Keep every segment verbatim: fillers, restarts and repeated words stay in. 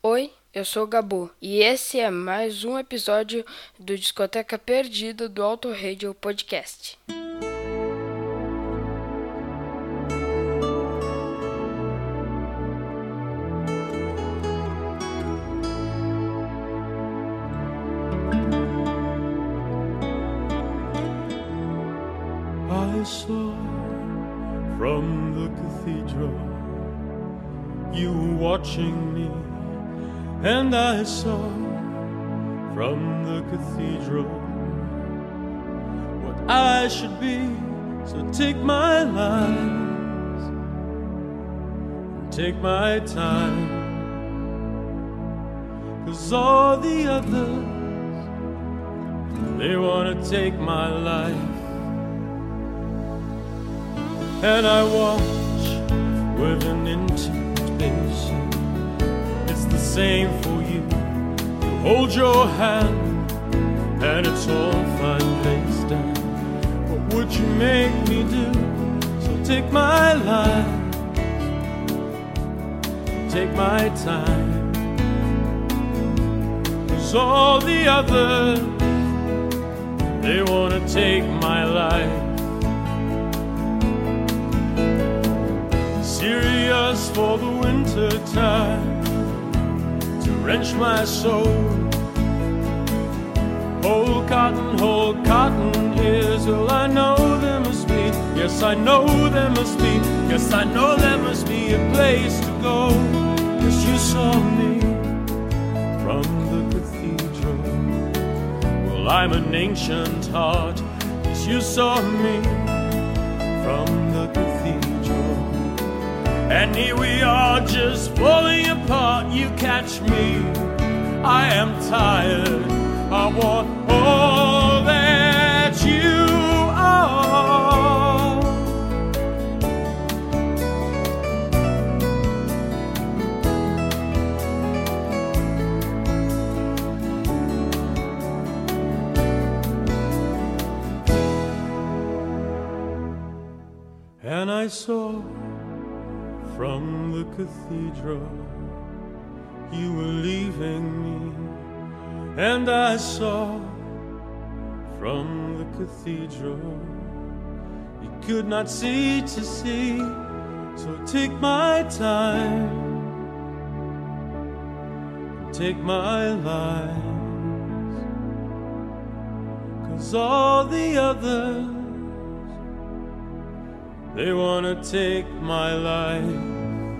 Oi, eu sou o Gabu e esse é mais um episódio do Discoteca Perdida do Auto Radio Podcast. I saw from the cathedral you watching me, and I saw from the cathedral what I should be. So take my lies and take my time, 'cause all the others, they wanna take my life. And I watch with an intimation. It's the same for you. You hold your hand and it's all fine placed down. What would you make me do? So take my life, take my time, 'cause all the others, they wanna take my life. Serious for the winter time, to wrench my soul. Whole cotton, whole cotton is all I know there must be. Yes, I know there must be. Yes, I know there must be a place to go. Yes, you saw me from the cathedral. Well, I'm an ancient heart. Yes, you saw me from the cathedral. And here we are just falling apart. You catch me, I am tired. I want all that you are. And I saw from the cathedral you were leaving me, and I saw from the cathedral you could not see to see. So take my time, take my lies, 'cause all the others, they wanna take my life.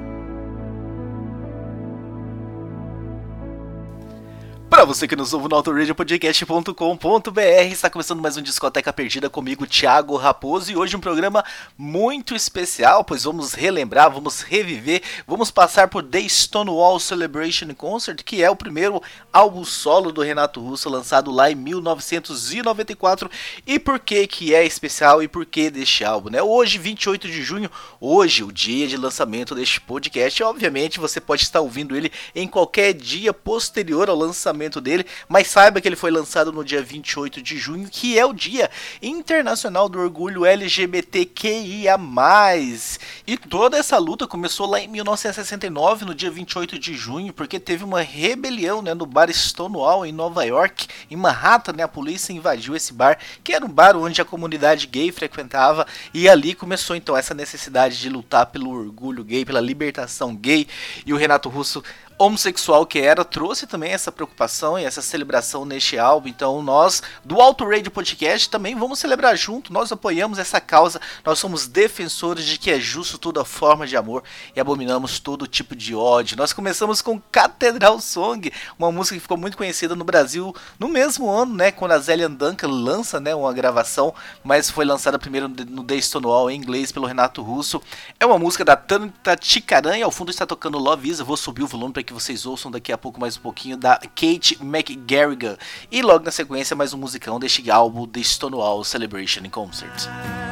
Para você que nos ouve no autoradio podcast ponto com ponto b r, está começando mais um Discoteca Perdida comigo, Thiago Raposo, e hoje um programa muito especial, pois vamos relembrar, vamos reviver, vamos passar por The Stonewall Celebration Concert, que é o primeiro álbum solo do Renato Russo, lançado lá em mil novecentos e noventa e quatro, e por que que é especial e por que deste álbum, né? Hoje, vinte e oito de junho, hoje, o dia de lançamento deste podcast, obviamente você pode estar ouvindo ele em qualquer dia posterior ao lançamento dele, mas saiba que ele foi lançado no dia vinte e oito de junho, que é o Dia Internacional do Orgulho L G B T Q I A mais, e toda essa luta começou lá em mil novecentos e sessenta e nove, no dia vinte e oito de junho, porque teve uma rebelião, né, no bar Stonewall em Nova York, em Manhattan, né, a polícia invadiu esse bar, que era um bar onde a comunidade gay frequentava, e ali começou então essa necessidade de lutar pelo orgulho gay, pela libertação gay, e o Renato Russo, homossexual que era, trouxe também essa preocupação e essa celebração neste álbum. Então nós, do Auto Radio Podcast, também vamos celebrar junto, nós apoiamos essa causa, nós somos defensores de que é justo toda forma de amor e abominamos todo tipo de ódio. Nós começamos com Cathedral Song, uma música que ficou muito conhecida no Brasil no mesmo ano, né, quando a Zélia Duncan lança, né, uma gravação, mas foi lançada primeiro no The Stonewall em inglês pelo Renato Russo. É uma música da Tanta Ticaranha, ao fundo está tocando Love Is, eu vou subir o volume para que vocês ouçam daqui a pouco mais um pouquinho, da Kate McGarrigan, e logo na sequência mais um musicão deste álbum, The Stonewall Celebration Concert.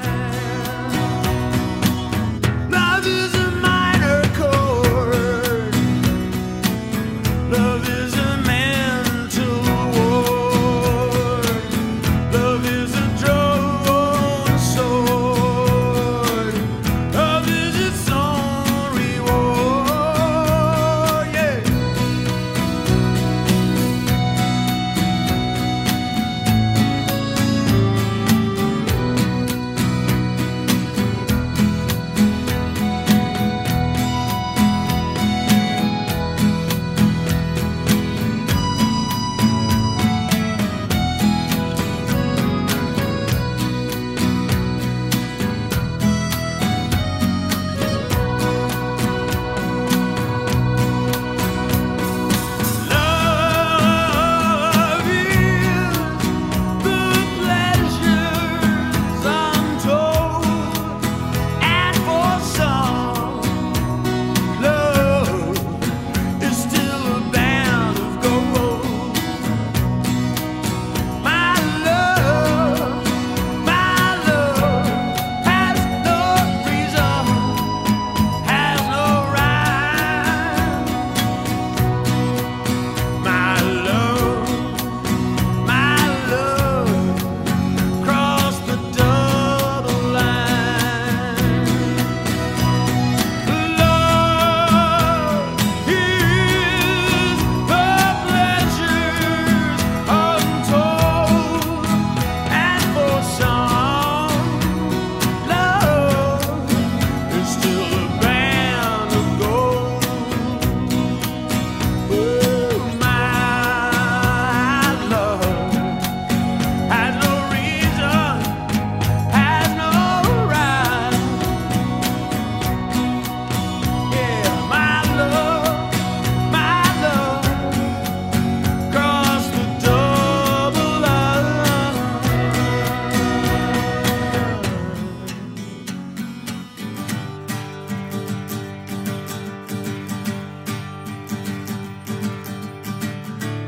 Love is a minor chord. Love is a mental ward. Love is a drawn sword. Love is its own reward. Yeah.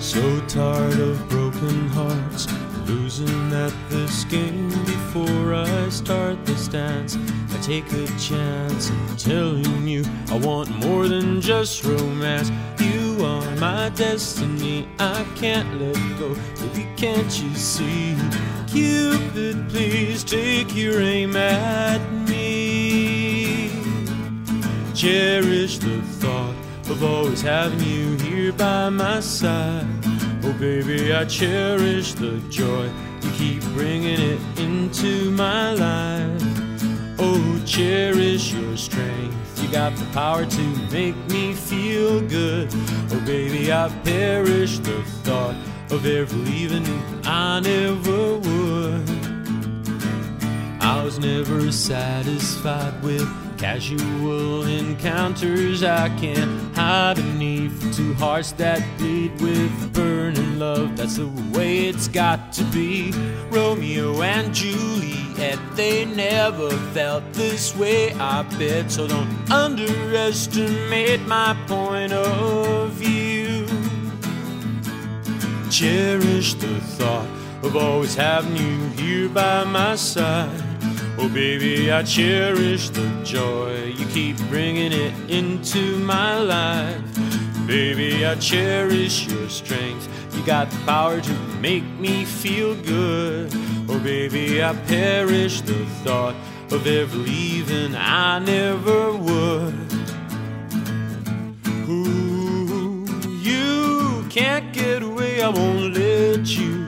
So tired of broken hearts, losing at this game. Before I start this dance, I take a chance in telling you I want more than just romance. You are my destiny, I can't let go. Baby, can't you see? Cupid, please take your aim at me. Cherish the thought of always having you here by my side. Oh baby, I cherish the joy you keep bringing it into my life. Oh, cherish your strength, you got the power to make me feel good. Oh baby, I perish the thought of ever leaving you, I never would. I was never satisfied with casual encounters. I can't hide beneath two hearts that bleed with burning love. That's the way it's got to be. Romeo and Juliet, they never felt this way, I bet. So don't underestimate my point of view. Cherish the thought of always having you here by my side. Oh baby, I cherish the joy you keep bringing it into my life. Baby, I cherish your strength, you got the power to make me feel good. Oh baby, I perish the thought of ever leaving, I never would. Ooh, you can't get away, I won't let you.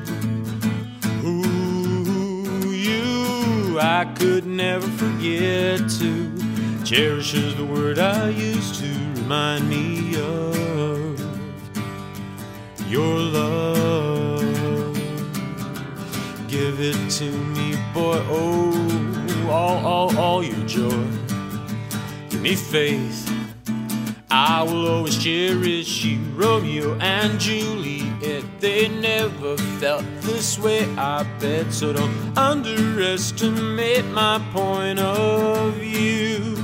I could never forget to. Cherish is the word I use to remind me of your love. Give it to me, boy, oh, all, all, all your joy. Give me faith, I will always cherish you. Romeo and Juliet, they never felt this way, I bet. So don't underestimate my point of view.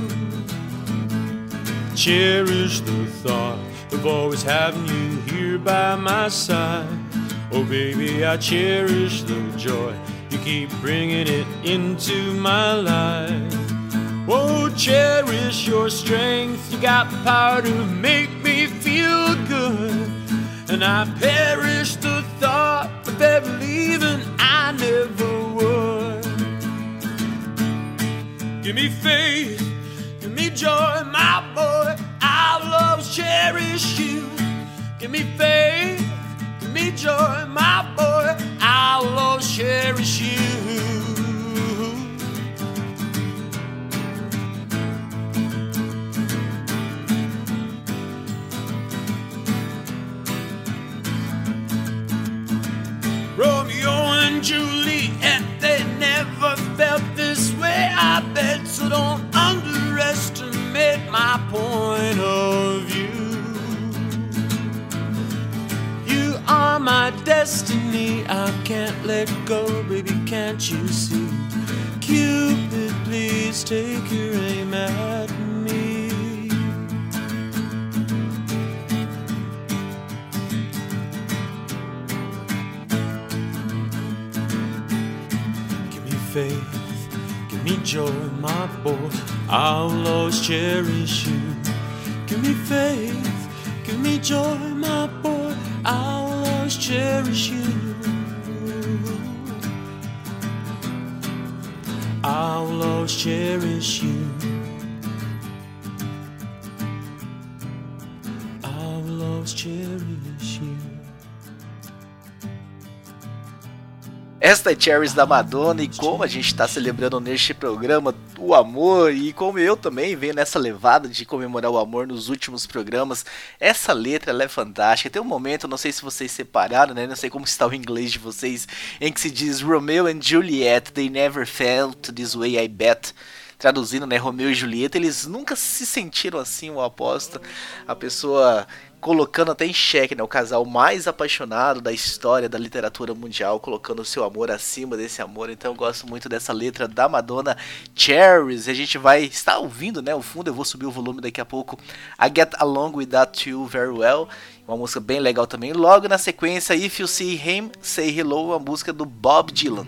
Cherish the thought of always having you here by my side. Oh baby, I cherish the joy you keep bringing it into my life. Oh, cherish your strength, you got the power to make me feel good. And I perish the thought of ever leaving, I never would. Give me faith, give me joy, my boy, I'll always cherish you. Give me faith, give me joy, my boy, I'll always cherish you. Romeo and Juliet, they never felt this way, I bet. So don't underestimate my point of view. You are my destiny, I can't let go, baby, can't you see? Cupid, please take your aim at me. Faith, give me joy, my boy, I'll always cherish you. Give me faith, give me joy, my boy, I'll always cherish you. I'll always cherish you. I'll always cherish you. Esta é Cherries da Madonna, e como a gente está celebrando neste programa o amor, e como eu também venho nessa levada de comemorar o amor nos últimos programas, essa letra ela é fantástica. Tem um momento, não sei se vocês separaram, né? Não sei como está o inglês de vocês, em que se diz Romeo and Juliet, they never felt this way, I bet. Traduzindo, né, Romeu e Julieta, eles nunca se sentiram assim, eu aposto. A pessoa colocando até em xeque, né, o casal mais apaixonado da história da literatura mundial, colocando o seu amor acima desse amor. Então eu gosto muito dessa letra da Madonna, Cherries. E a gente vai estar ouvindo, né, o fundo, eu vou subir o volume daqui a pouco, I Get Along With That Too Very Well. uma música bem legal também. Logo na sequência, If You See Him, Say Hello, a música do Bob Dylan.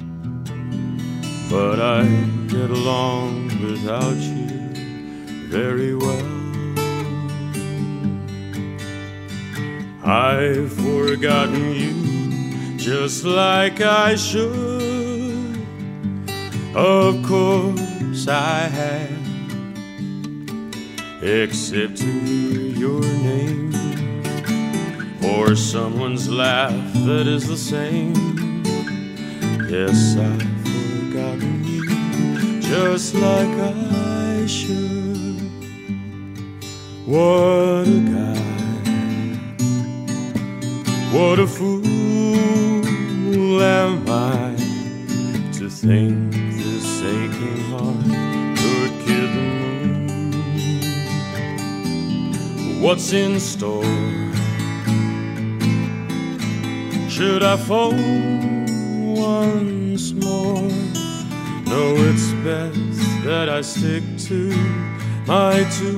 But I get along without you very well. I've forgotten you just like I should. Of course I have, except to hear your name or someone's laugh that is the same. Yes, I've forgotten you just like I should. What a guy, what a fool am I to think this aching heart could kid the moon. What's in store? Should I phone once more? No, it's best that I stick to my tune.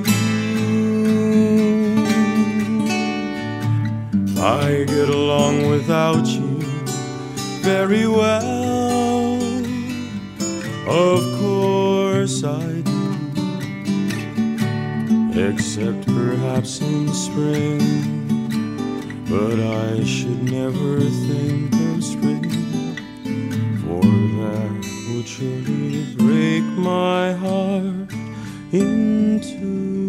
I get along without you very well. Of course I do, except perhaps in spring. But I should never think of spring, for that would surely break my heart in two.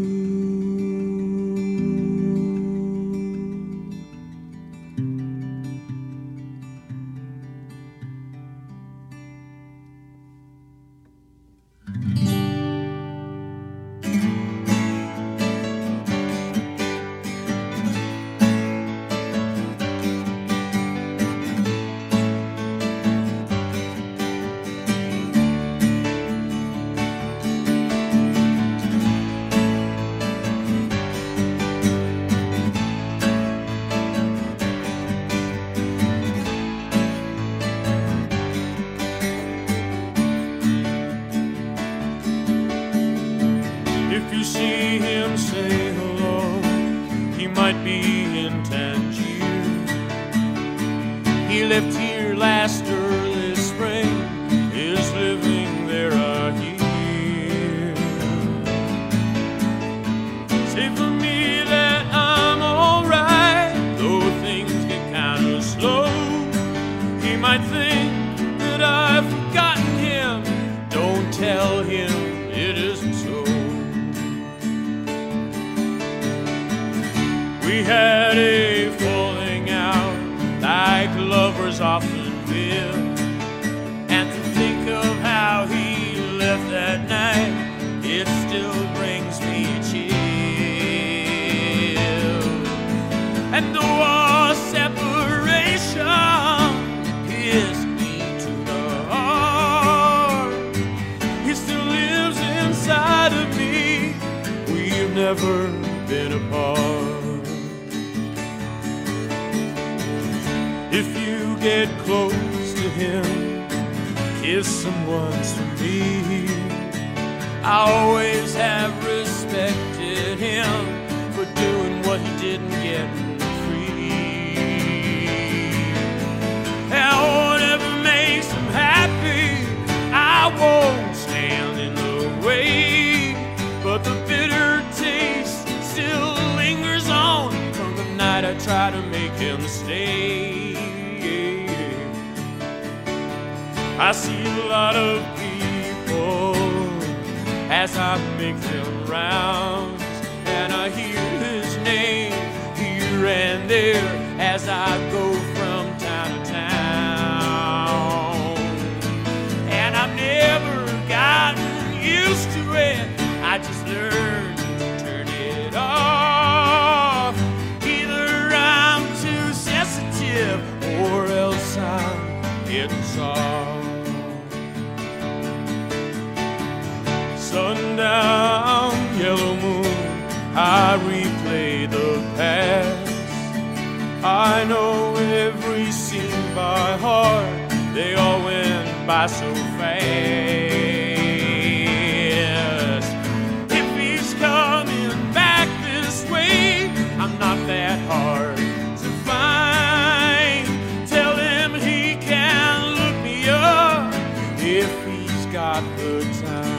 If you see him, say hello. He might be in Tangier. He left here last early spring, is living there a year. Say for me that I'm alright, though things get kinda slow. He might think that I've forgotten him. Don't tell him it isn't so. We had a falling out like lovers often will, and to think of how he left that night, it still brings me chills. And though our separation pierced me to the heart, he still lives inside of me. We've never been apart. If you get close to him, kiss him once for me. I always have respected him for doing what he didn't get free. And whatever makes him happy, I won't stand in the way. But the bitter taste still lingers on from the night I tried to make him stay. I see a lot of people as I make them rounds, and I hear his name here and there as I go from town to town. And I've never gotten used to it, I just learned to turn it off. Either I'm too sensitive or else I'm getting soft. Sundown, yellow moon, I replay the past. I know every scene by heart, they all went by so fast. If he's coming back this way, I'm not that hard to find. Tell him he can look me up if he's got the time.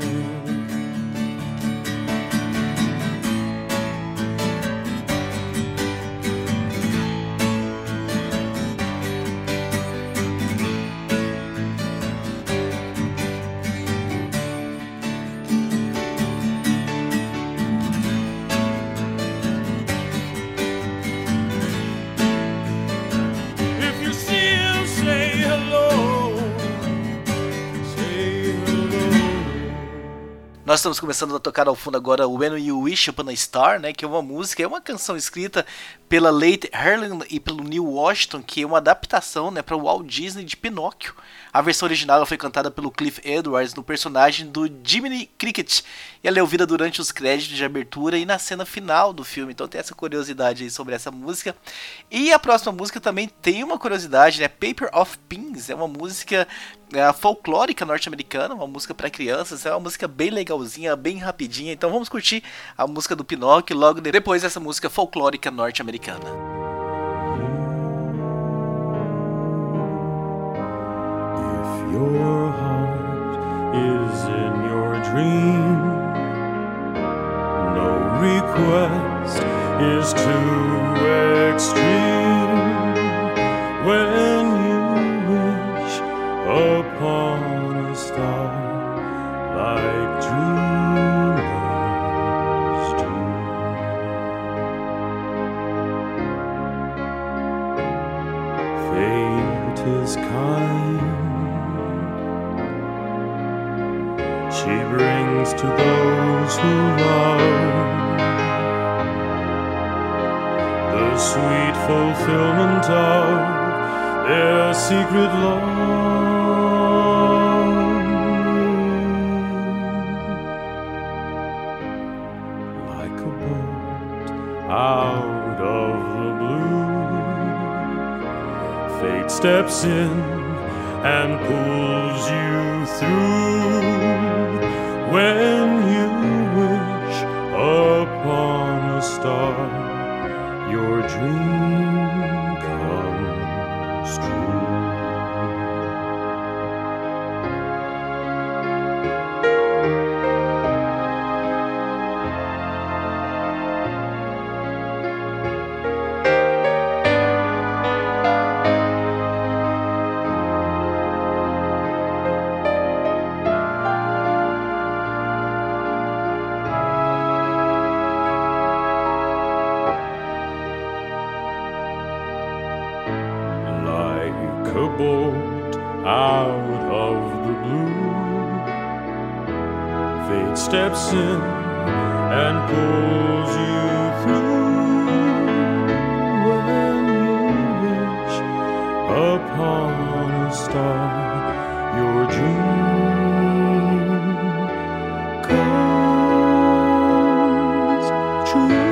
Nós estamos começando a tocar ao fundo agora When You Wish Upon a Star, né, que é uma música, é uma canção escrita pela Late Harlan e pelo Neil Washington, que é uma adaptação, né, para o Walt Disney de Pinóquio. A versão original ela foi cantada pelo Cliff Edwards no personagem do Jiminy Cricket, e ela é ouvida durante os créditos de abertura e na cena final do filme, então tem essa curiosidade aí sobre essa música. E a próxima música também tem uma curiosidade, né, Paper of Pins, é uma música é, folclórica norte-americana, uma música para crianças, é uma música bem legalzinha, bem rapidinha, então vamos curtir a música do Pinóquio logo depois dessa música folclórica norte-americana. Your heart is in your dream. No request is too extreme. When you wish upon a star like dreamers do. Fate is kind. She brings to those who love the sweet fulfillment of their secret longing. Like a bolt out of the blue, fate steps in and pulls you through. When you wish upon a star, your dream comes true. A bolt out of the blue, fate steps in and pulls you through. When you wish upon a star, your dream comes true.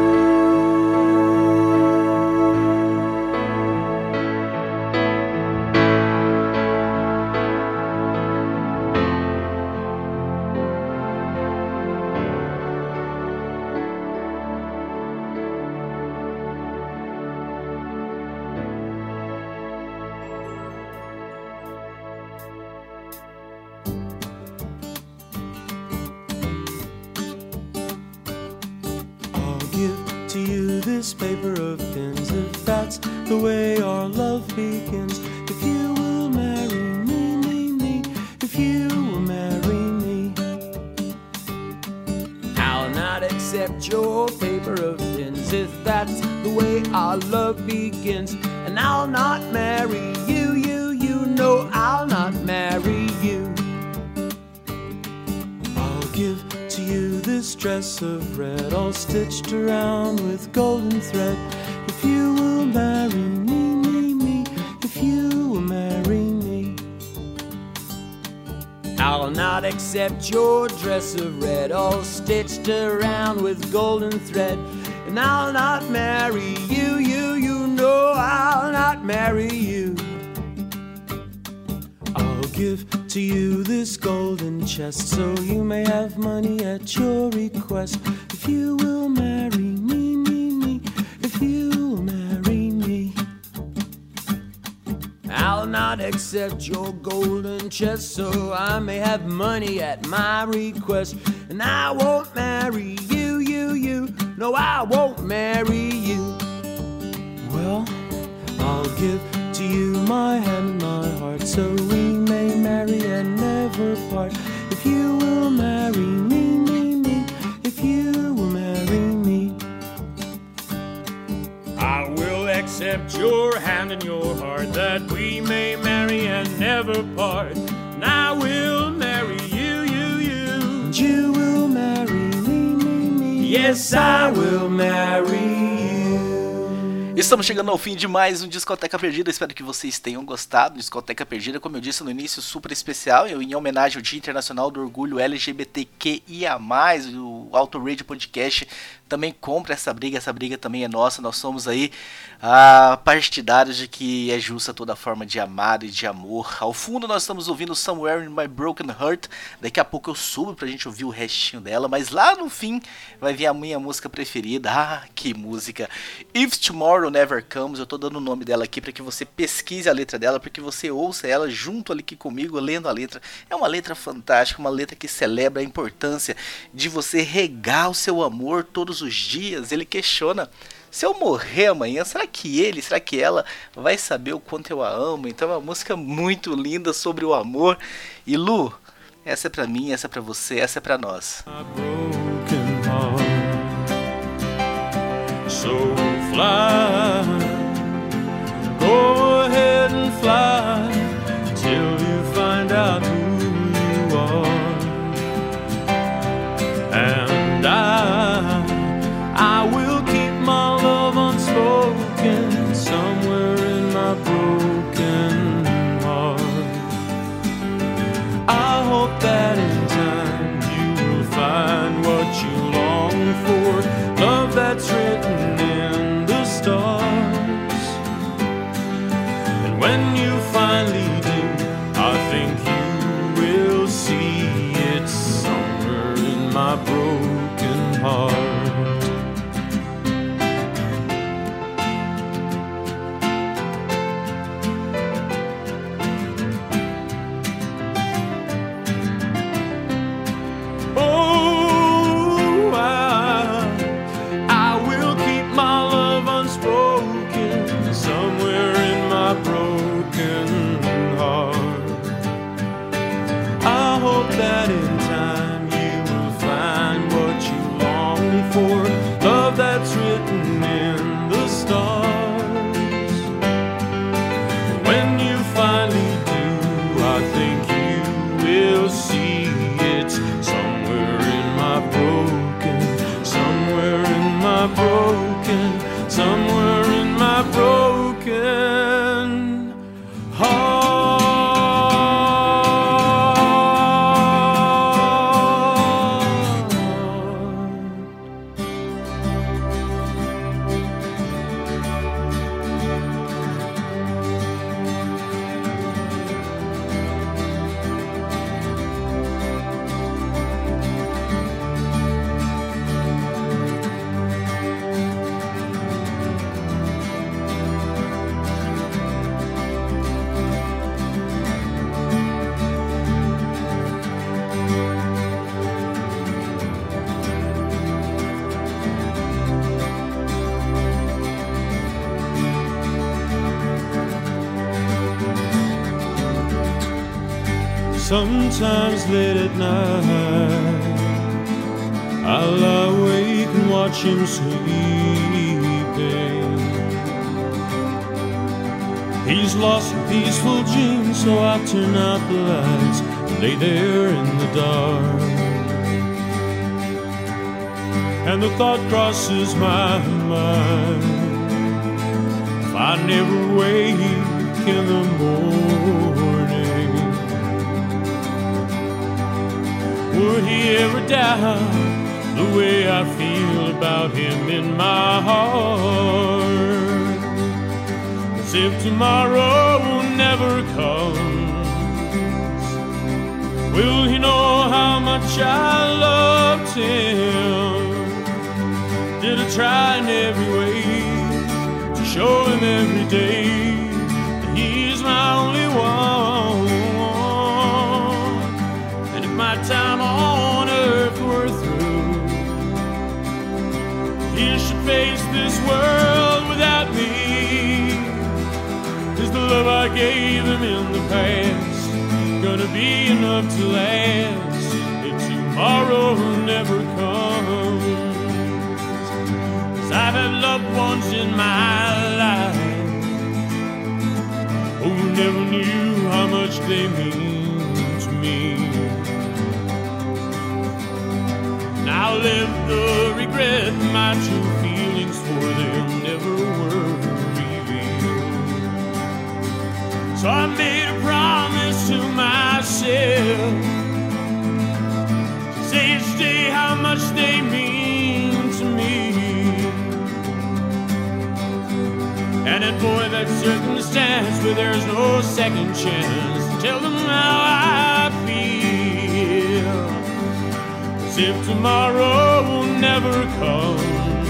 To you this paper of pins, if that's the way our love begins. If you will marry me, me, me, if you will marry me, I'll not accept your paper of pins, if that's the way our love begins. And I'll not marry you, you, you, no, I'll not marry you. I'll give to you this dress of red, all stitched around with golden thread. If you will marry me, me, me, if you will marry me, I'll not accept your dress of red, all stitched around with golden thread. And I'll not marry you, you, you, no, I'll not marry you. I'll give to you this golden chest, so you may have money at your request. If you will marry me, me, me, if you not accept your golden chest, so I may have money at my request. And I won't marry you, you, you. No, I won't marry you. Well, I'll give to you my hand and my heart, so we may marry and never part. If you will marry me, me, me, if you will marry me, I will accept your hand and your heart, that we may marry and never part. And I will marry you, you, you, and you will marry me, me, me. Yes, I will marry you. Estamos chegando ao fim de mais um Discoteca Perdida. Espero que vocês tenham gostado. Discoteca Perdida, como eu disse no início, super especial, em homenagem ao Dia Internacional do Orgulho L G B T Q I A mais, o Auto Radio Podcast também compra essa briga, essa briga também é nossa. Nós somos aí ah, partidários de que é justa toda forma de amar e de amor. Ao fundo nós estamos ouvindo Somewhere in My Broken Heart. Daqui a pouco eu subo pra gente ouvir o restinho dela, mas lá no fim vai vir a minha música preferida. Ah, que música! If Tomorrow Never Comes. Eu tô dando o nome dela aqui para que você pesquise a letra dela, para que você ouça ela junto ali aqui comigo, lendo a letra. É uma letra fantástica, uma letra que celebra a importância de você regar o seu amor todos os dias. Ele questiona: se eu morrer amanhã, será que ele, será que ela vai saber o quanto eu a amo? Então é uma música muito linda sobre o amor. E Lu, essa é pra mim, essa é pra você, essa é pra nós. So fly, go ahead and fly till you find out who you are. And I, I will keep my love unspoken somewhere in my broken heart. I hope that in time you will find what you long for, love that's written in the stars. And when you finally do, I think you will see it's somewhere in my broken heart. That in time you will find what you long for, love that's written in the stars. And when you finally do, I think you will see it's somewhere in my broken, somewhere in my broken, somewhere in my broken heart. Sometimes late at night I lie awake and watch him sleeping. He's lost a peaceful dream, so I turn out the lights and lay there in the dark. And the thought crosses my mind, if I never wake in the morning, would he ever doubt the way I feel about him in my heart? As if tomorrow never comes, will he know how much I loved him? Did I try in every way to show him every day that he's my only gave him in the past gonna be enough to last if tomorrow never comes? 'Cause I've had loved ones in my life who never knew how much they mean to me. And I'll live the regret my true feelings for them never were revealed. So I made a promise to myself to say each day how much they mean to me. And avoid that circumstance where there's no second chance to tell them how I feel. As if tomorrow never comes,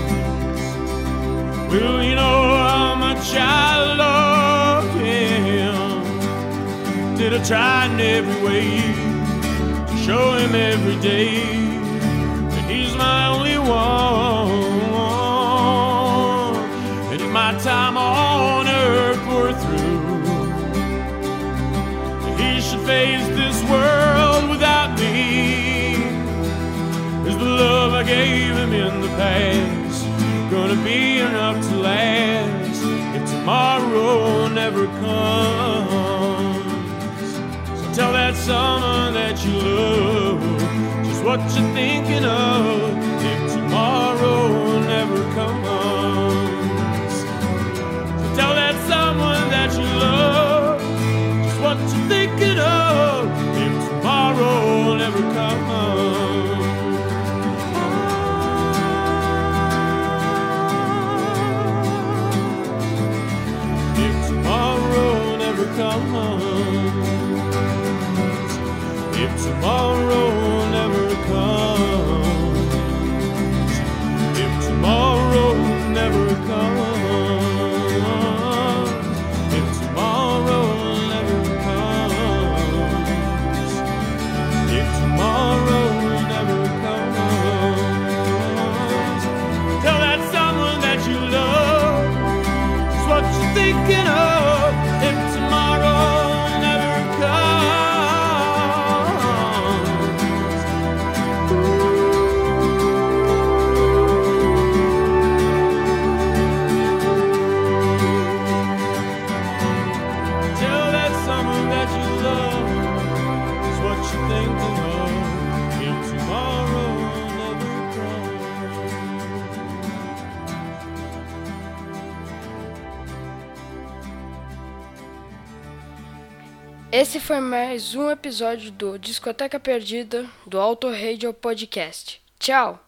will you know how much I love him? Did I try in every way to show him every day that he's my only one? My time on earth were through, he should face this world without me. Is the love I gave him in the past gonna be enough to last if tomorrow never comes? So tell that someone that you love just what you're thinking of if tomorrow never comes. Tell that someone that you love just what you're thinking of if tomorrow never comes. If tomorrow never comes. If tomorrow never comes. If tomorrow never comes. Thinking of if tomorrow never comes. Tell that someone that you love is what you're thinking of if tomorrow never comes. Esse foi mais um episódio do Discoteca Perdida do Auto Radio Podcast. Tchau!